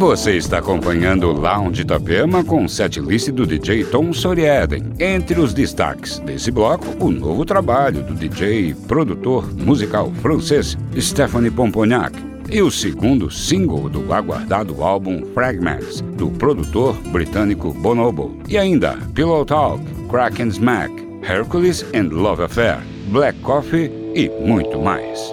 Você está acompanhando o Lounge Itapema com o setlist do DJ Tom Sorieden. Entre os destaques desse bloco, o novo trabalho do DJ e produtor musical francês Stéphane Pomponiac e o segundo single do aguardado álbum Fragments, do produtor britânico Bonobo. E ainda Pillow Talk, Crack and Smack, Hercules and Love Affair, Black Coffee e muito mais.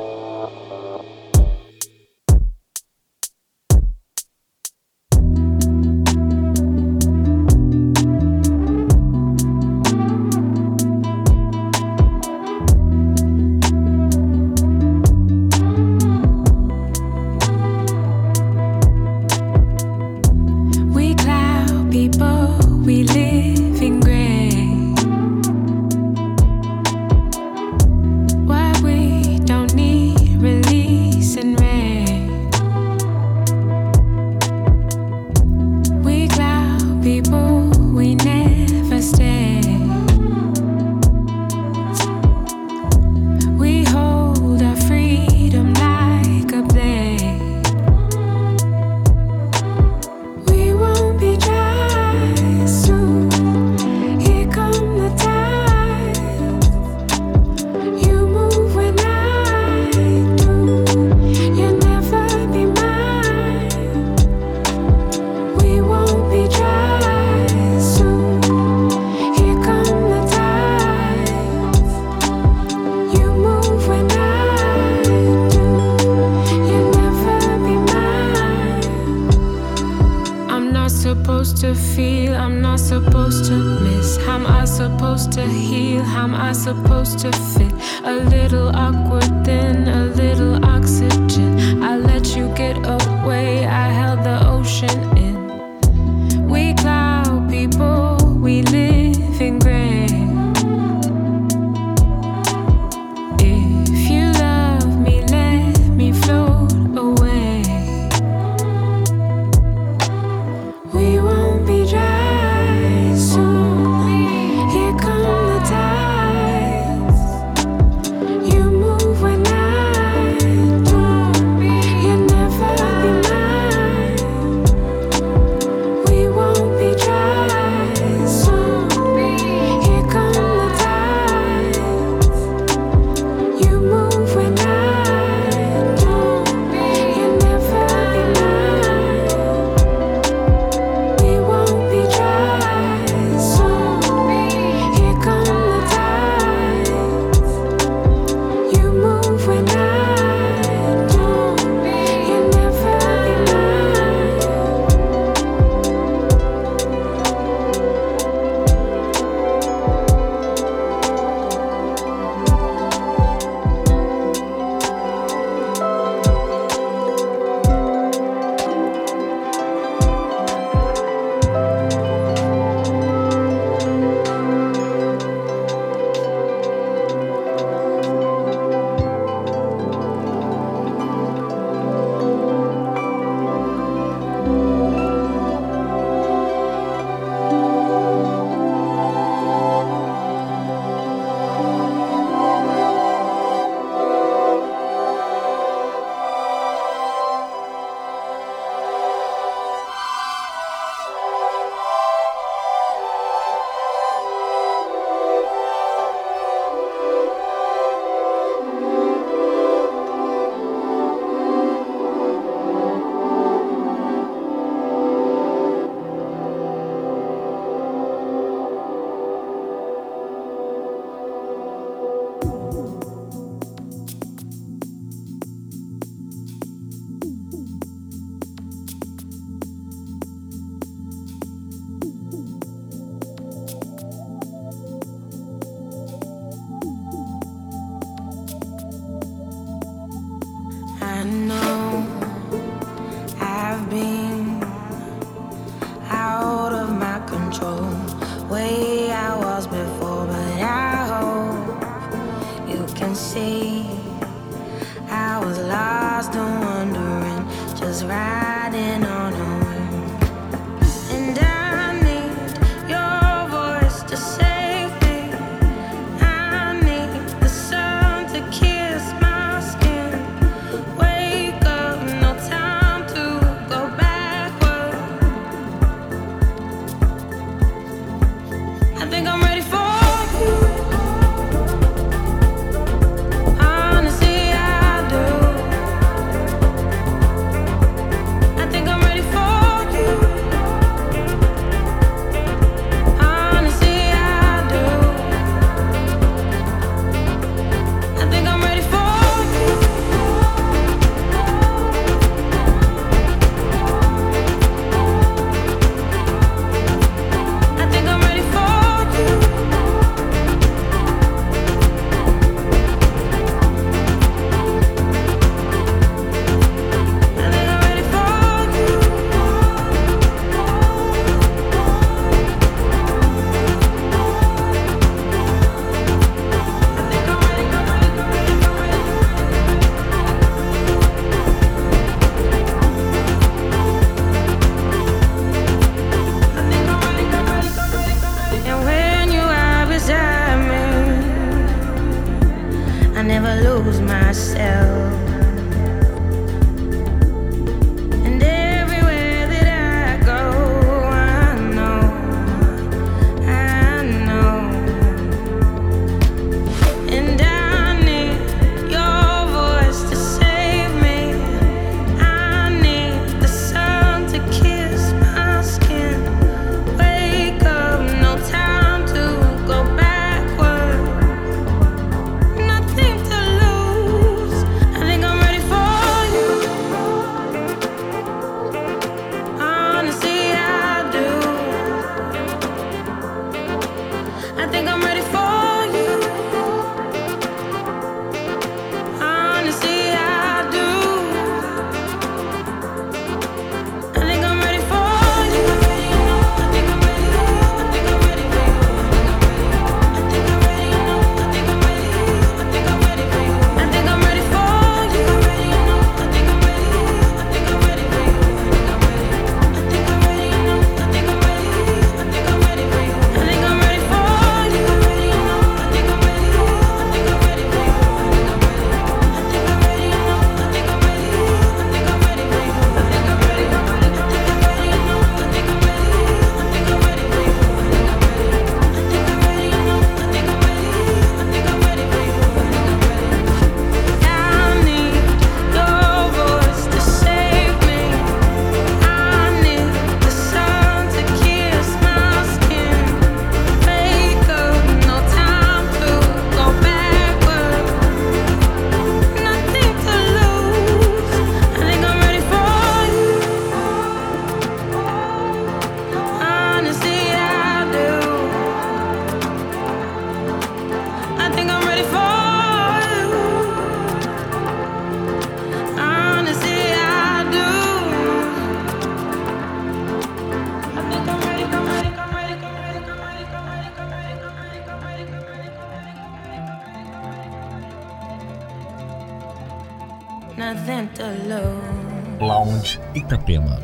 Lounge Itapema.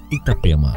Itapema.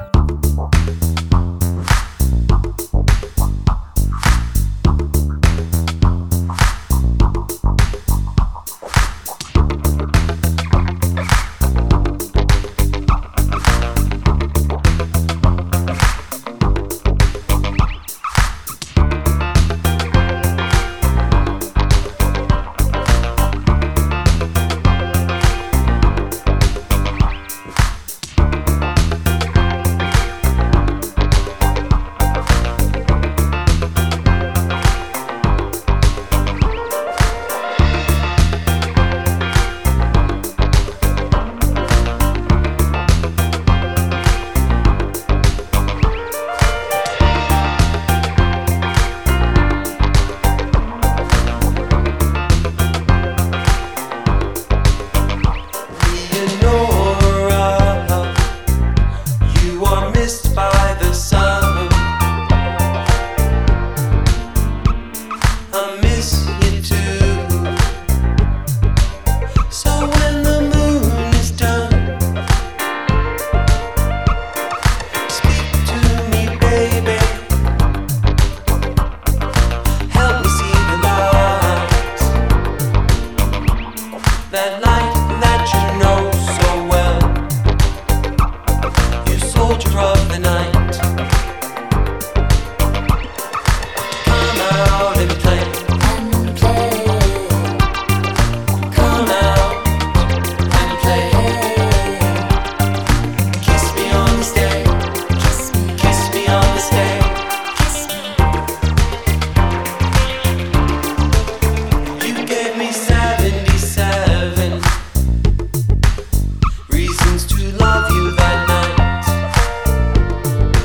Reasons to love you that night.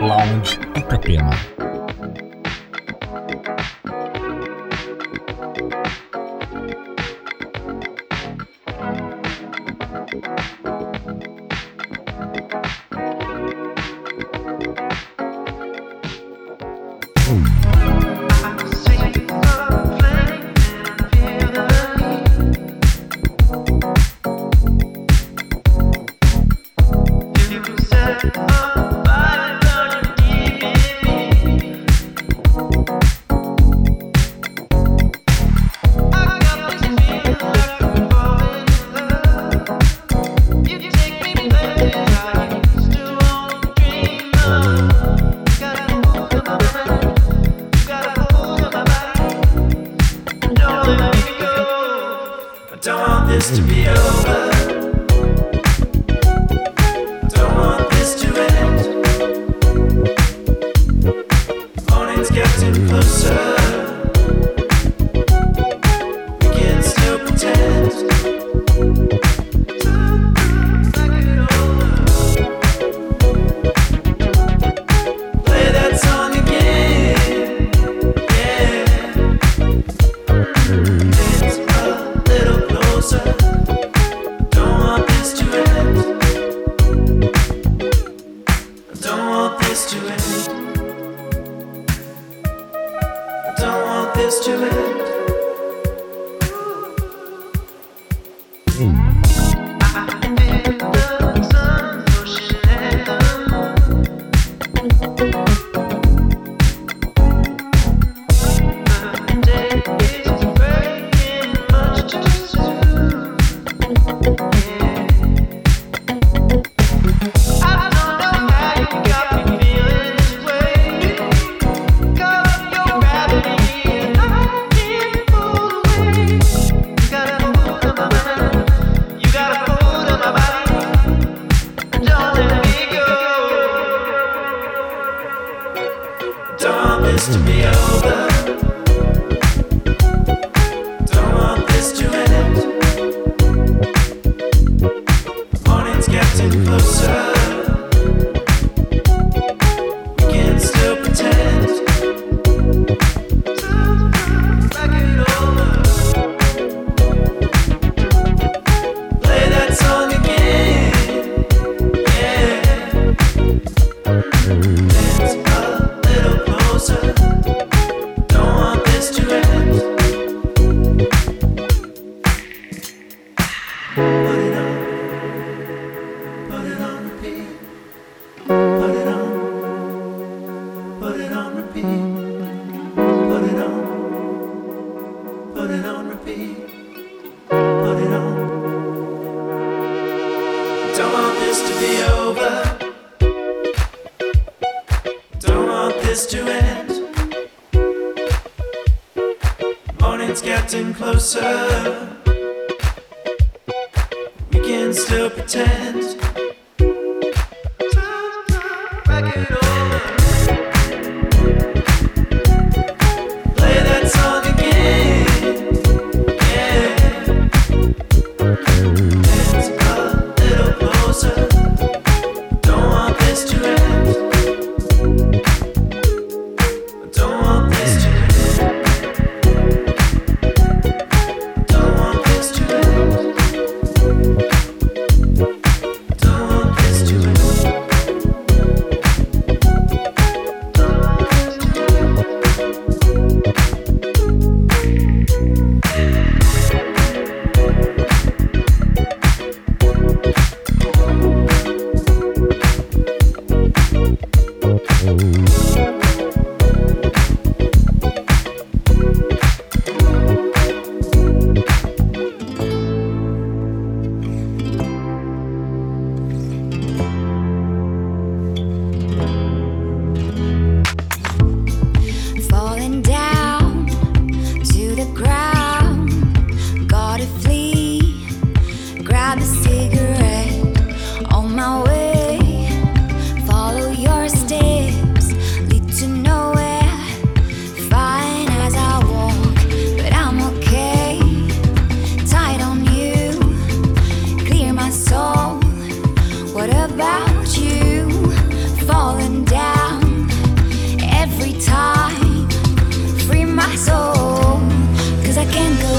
Lounge Itapema.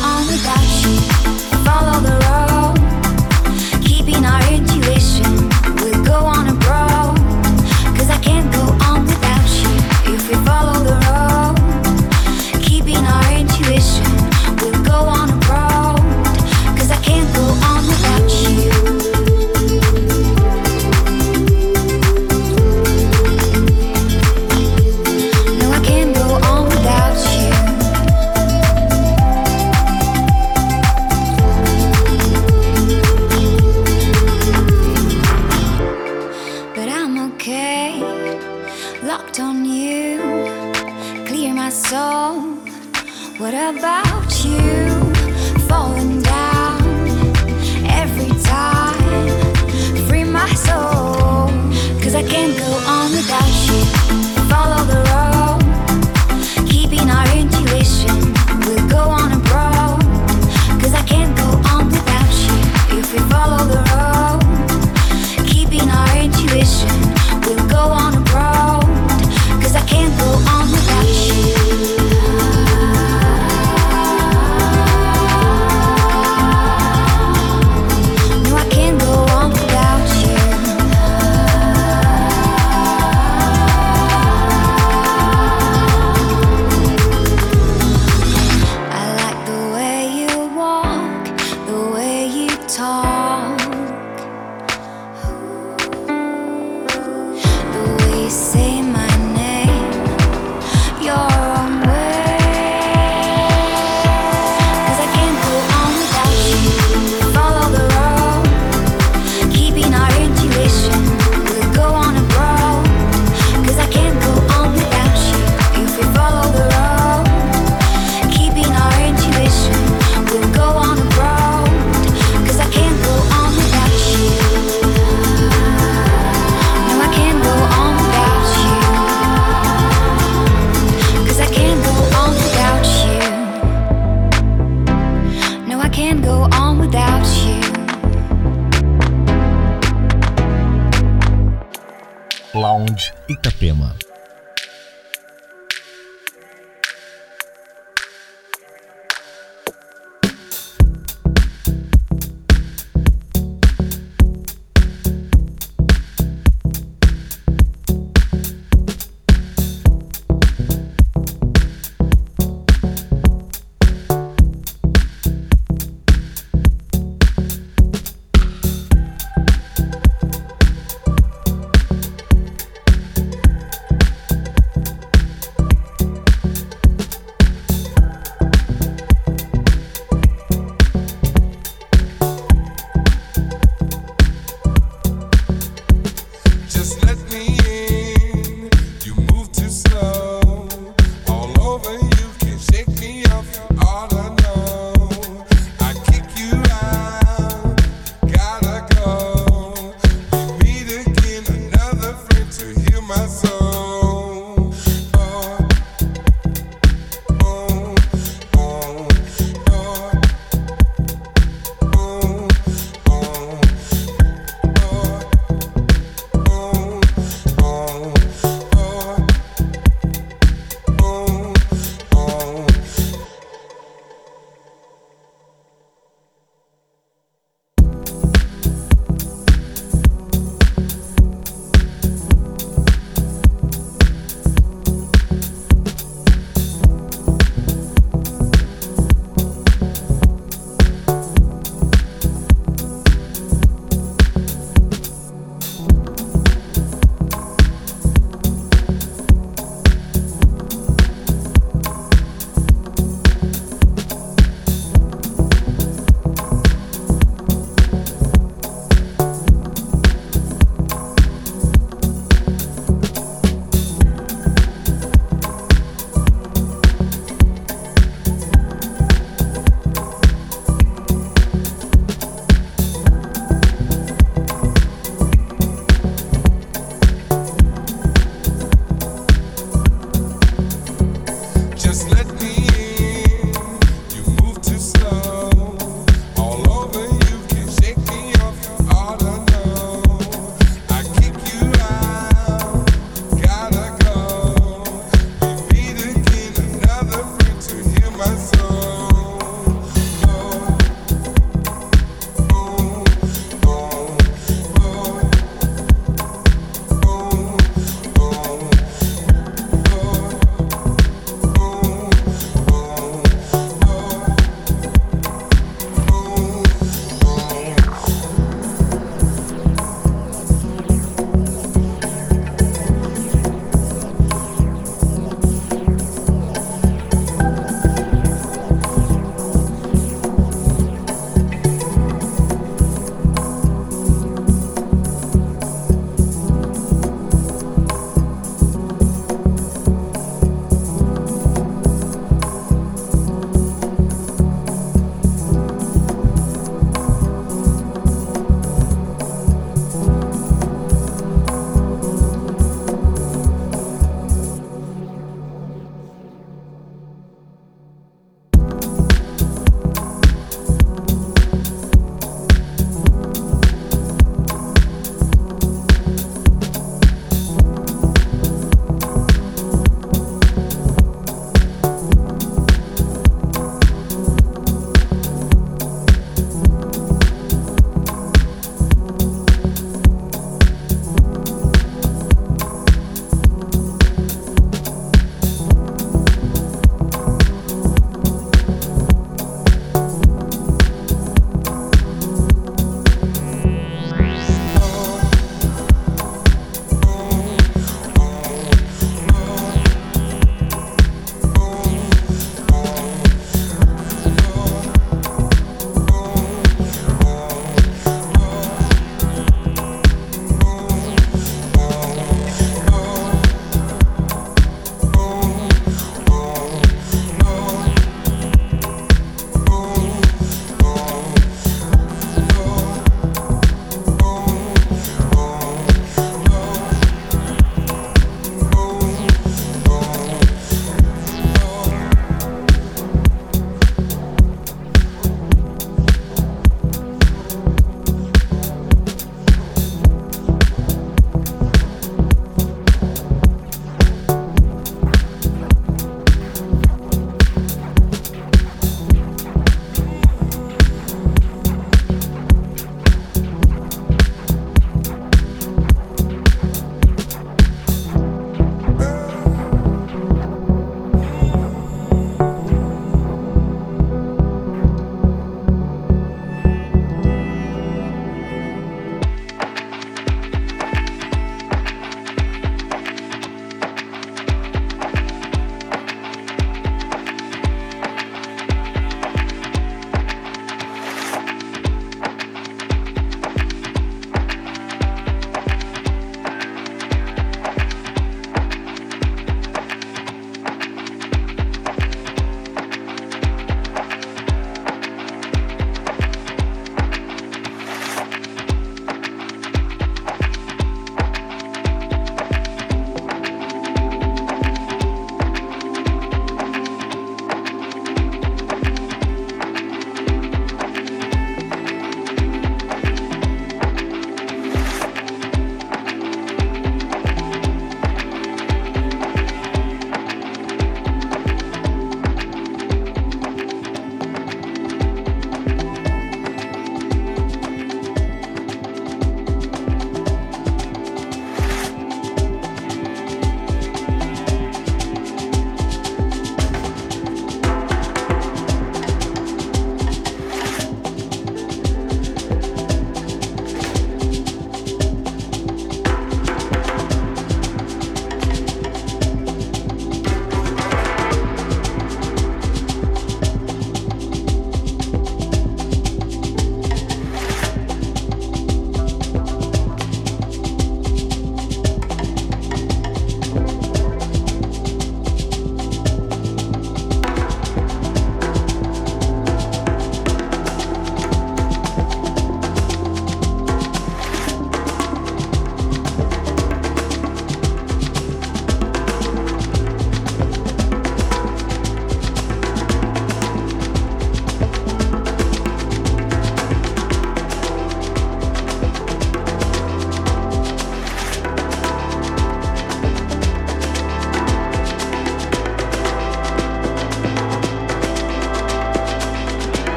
on without you. Follow the road, keeping our intuition. We'll go on a road, 'cause I can't go on without you. If we follow the road, keeping our intuition. We'll go on a road, 'cause I can't go on without you. No, I can't go on without you. But I'm okay, locked on you, clear my soul. What about you? Falling down every time, free my soul, 'cause I can't go on without you. Follow the road, keeping our intuition. We'll go on a road, 'cause I can't go on without you. If we follow the road, keeping our intuition. We'll go on a road, 'cause I can't go on without you. No, I can't go on without you. I like the way you walk, the way you talk, the way you say my name, your own way. 'Cause I can't go on without you. Follow the road, keeping our intuition. We'll go on a road, 'cause I can't go on without you. If we follow the road, keeping our intuition. We'll go on a road, 'cause I can't go on without you. No, I can't go on without you. 'Cause I can't go on without you. No, I can't go on without you. Lounge Itapema.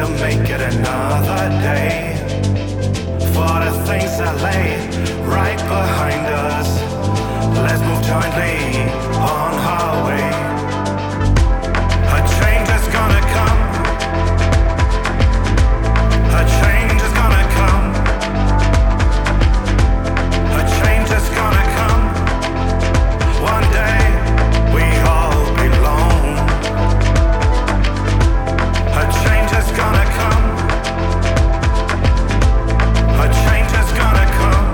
to make it another day. For the things that lay right behind us, let's move jointly on our way. A change is gonna come. A change is gonna come. A change is gonna come. One day we all belong. A change is gonna come. A change is gonna come.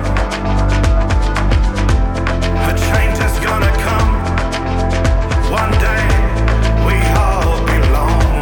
A change is gonna come. One day we all belong.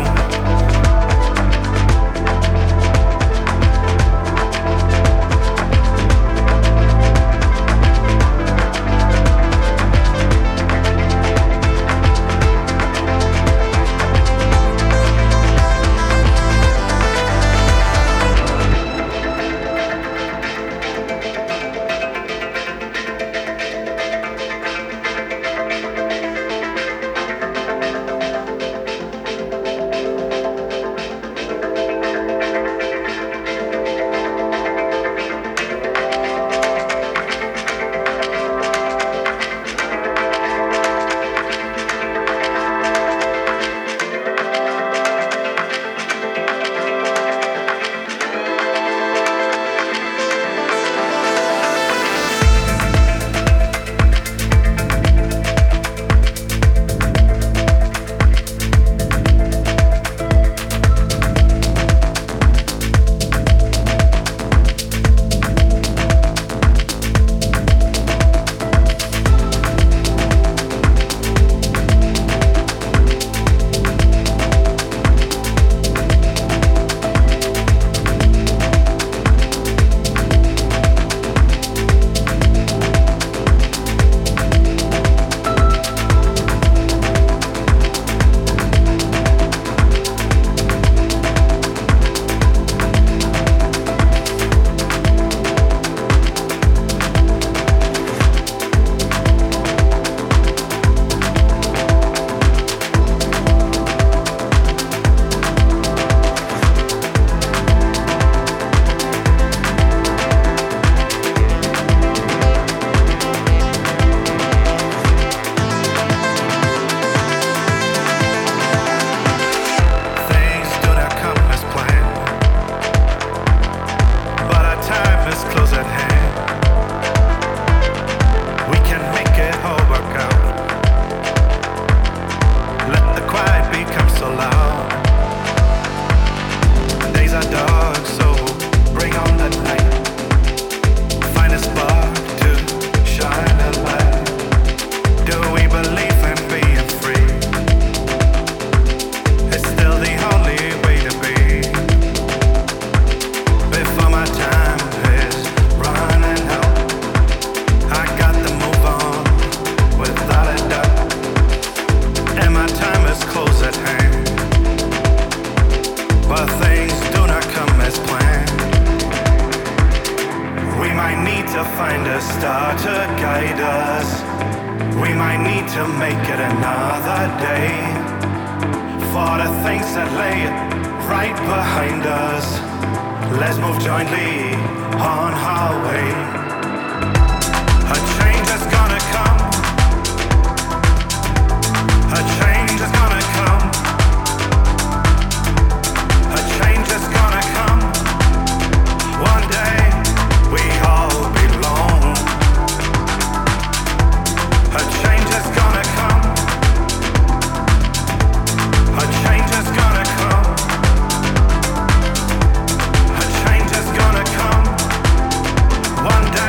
One day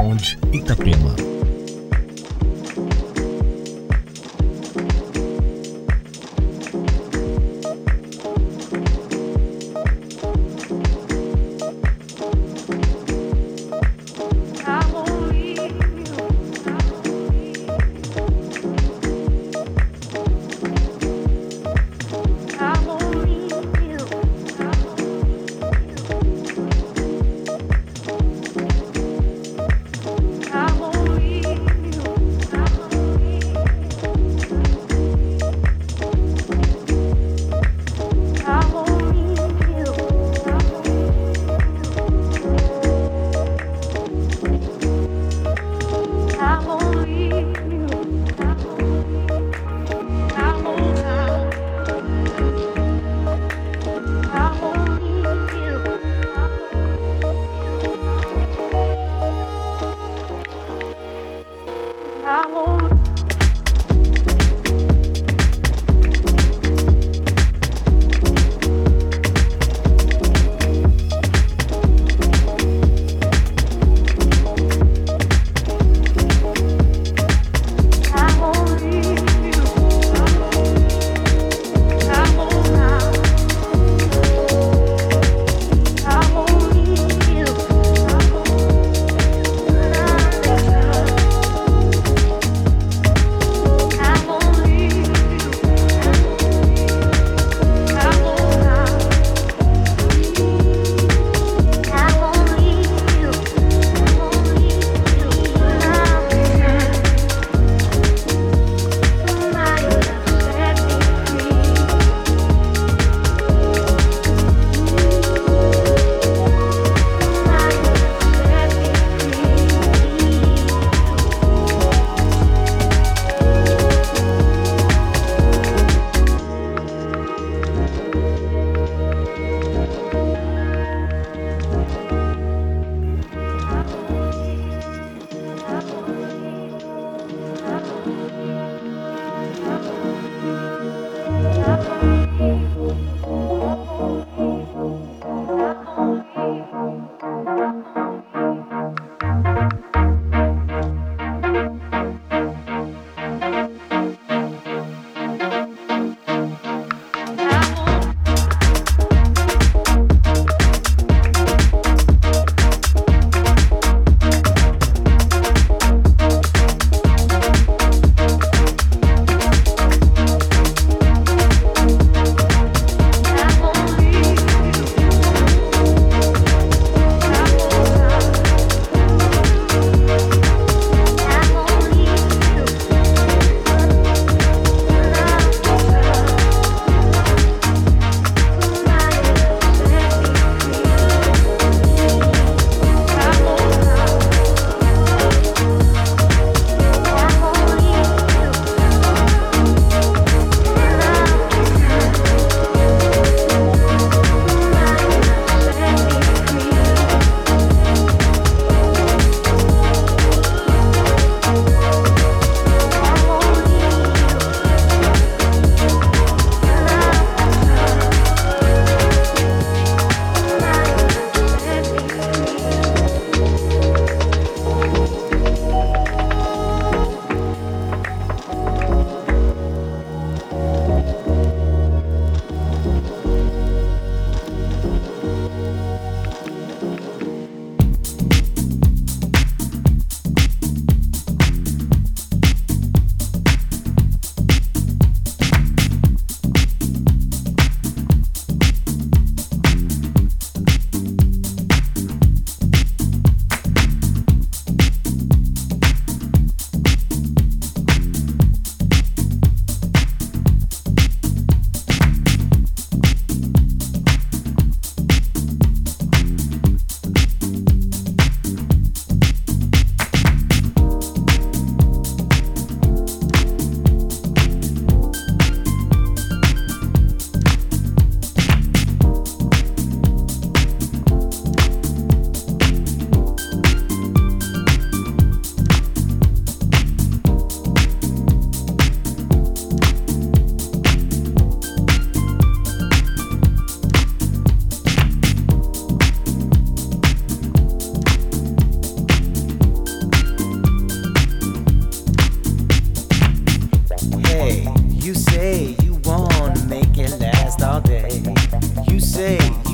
Lounge Itapema. I won't leave.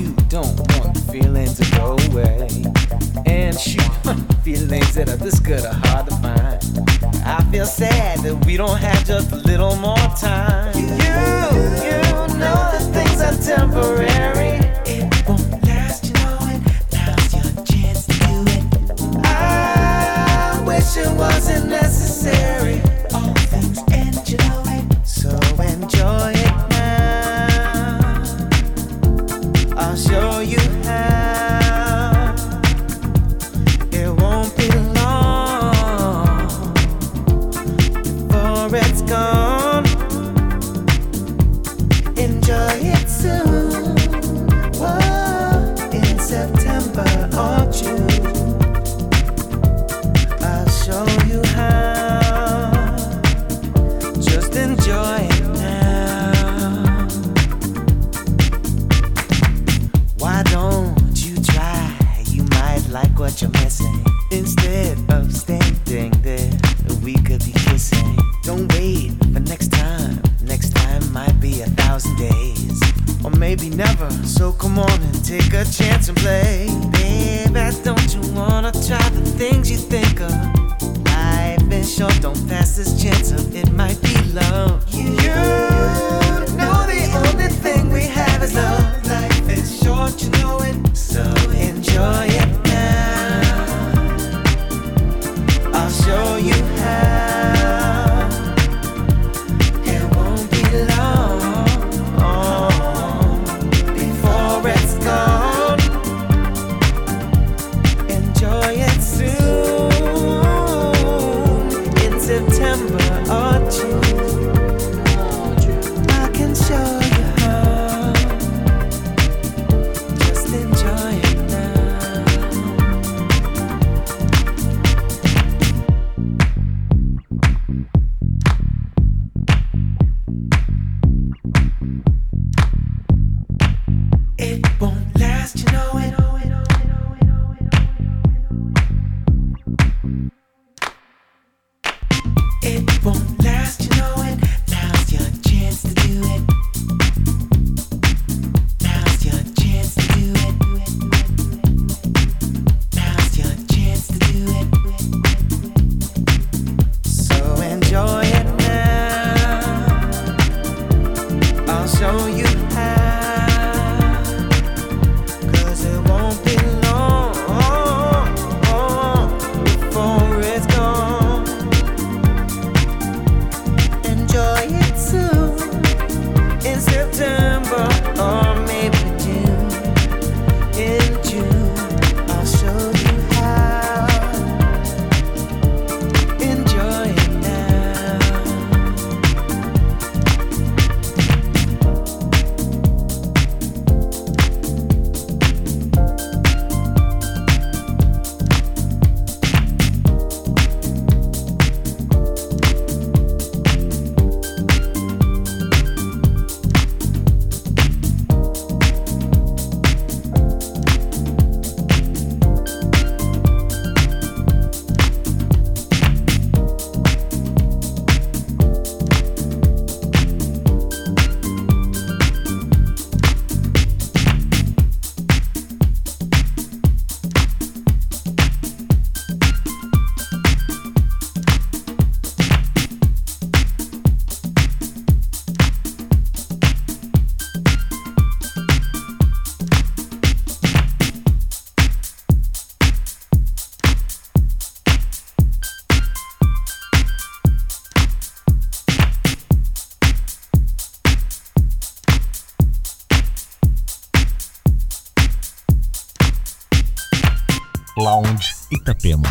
you don't want feelings to go away. And shoot, feelings that are this good are hard to find. I feel sad that we don't have just a little more time. You know that things are temporary. It won't last, you know it. Now's your chance to do it. I wish it wasn't necessary. All things end, you know it. So enjoy it now. I'll show you how. It won't be long before it's gone. Enjoy it soon. Whoa, in September or June. I'll show you how. Just enjoy it now. Why don't you try? You might like what you're missing. Instead of standing there, we could be kissing. Don't wait for next time. Next time might be 1,000 days, or maybe never. So come on and take a chance and play. Baby, don't you wanna try the things you think of? Life is short, don't pass this chance up. It might be love. You know the only thing we have is love. Life is short, you know it. So enjoy it now. I'll show you how. It won't be long before it's gone. Enjoy it soon in September or June. I can show you how. Just enjoy it now. It won't last, you know it. It won't last, you know it. Now's your chance to do it. Now's your chance to do it. Now's your chance to do it. So enjoy it now. I'll show you how. 'Cause it won't be long before it's gone. Enjoy it soon in September or maybe June. In June, I'll show you how. Enjoy it now. Lounge Itapema.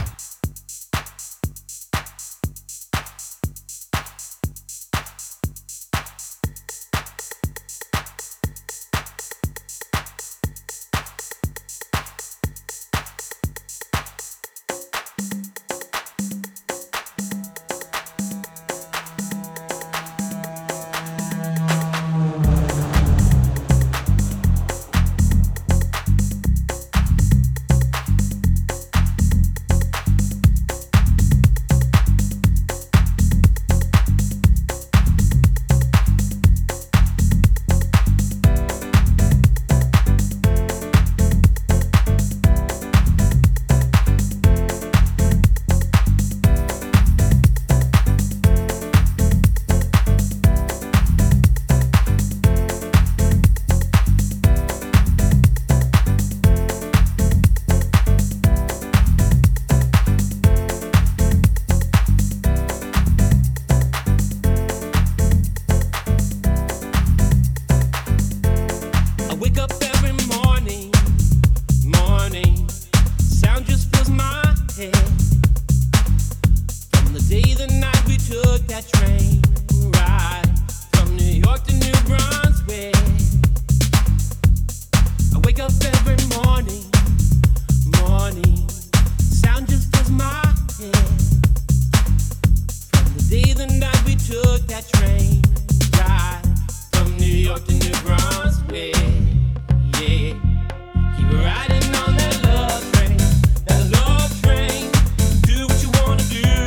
up every morning, sound just fills my head. From the day the night we took that train ride from New York to New Brunswick, yeah. Keep riding on that love train, that love train. Do what you wanna do.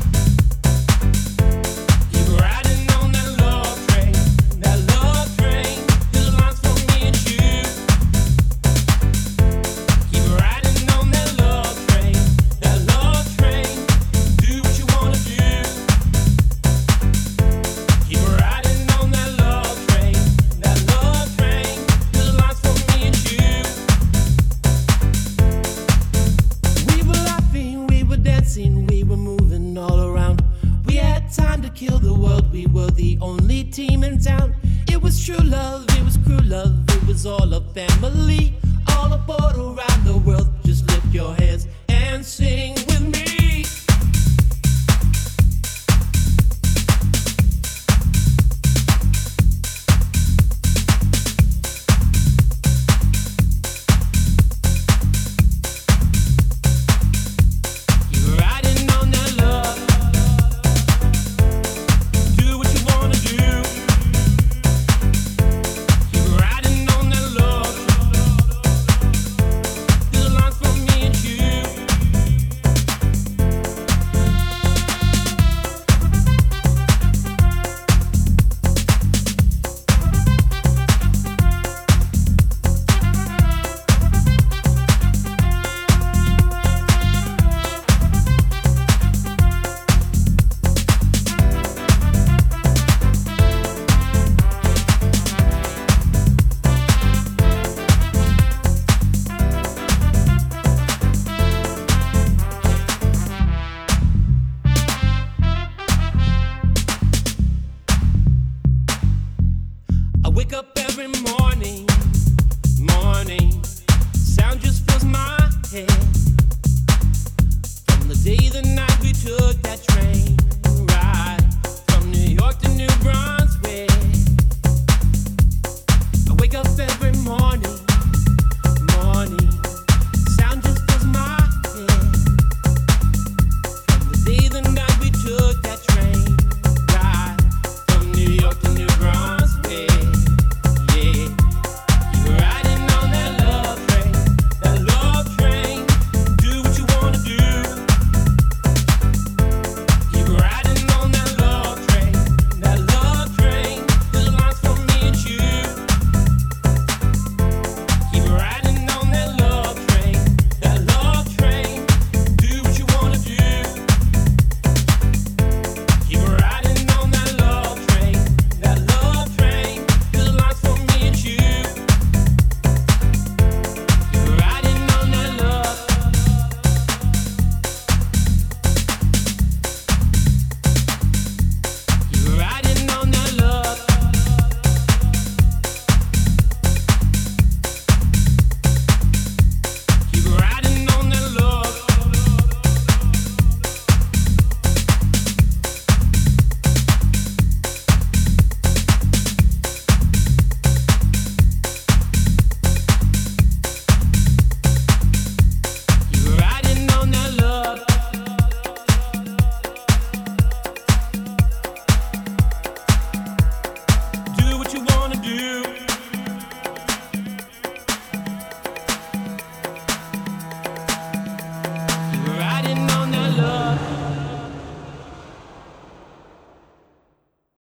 Keep riding on that love train, that love train. There's lines for me and you. Keep riding on that love train, that love train. Do what you wanna do. Keep riding on that love train, that love train. There's lines for me and you. We were laughing, we were dancing, we were moving all around. We had time to kill the world, we were the only team in town. It was true love, it was crew love, it was all a family. All aboard around the world, just lift your hands and sing with me. Keep riding on that love. Do what you wanna do. Keep riding on that love. There's lines for me and you. I wake up every morning, sound just fills my head. From the day the night we took that train